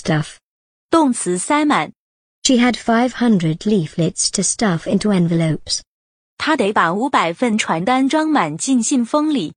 stuff. 动词塞满。 She had 500 leaflets to stuff into envelopes. 她得把500份传单装满进信封里。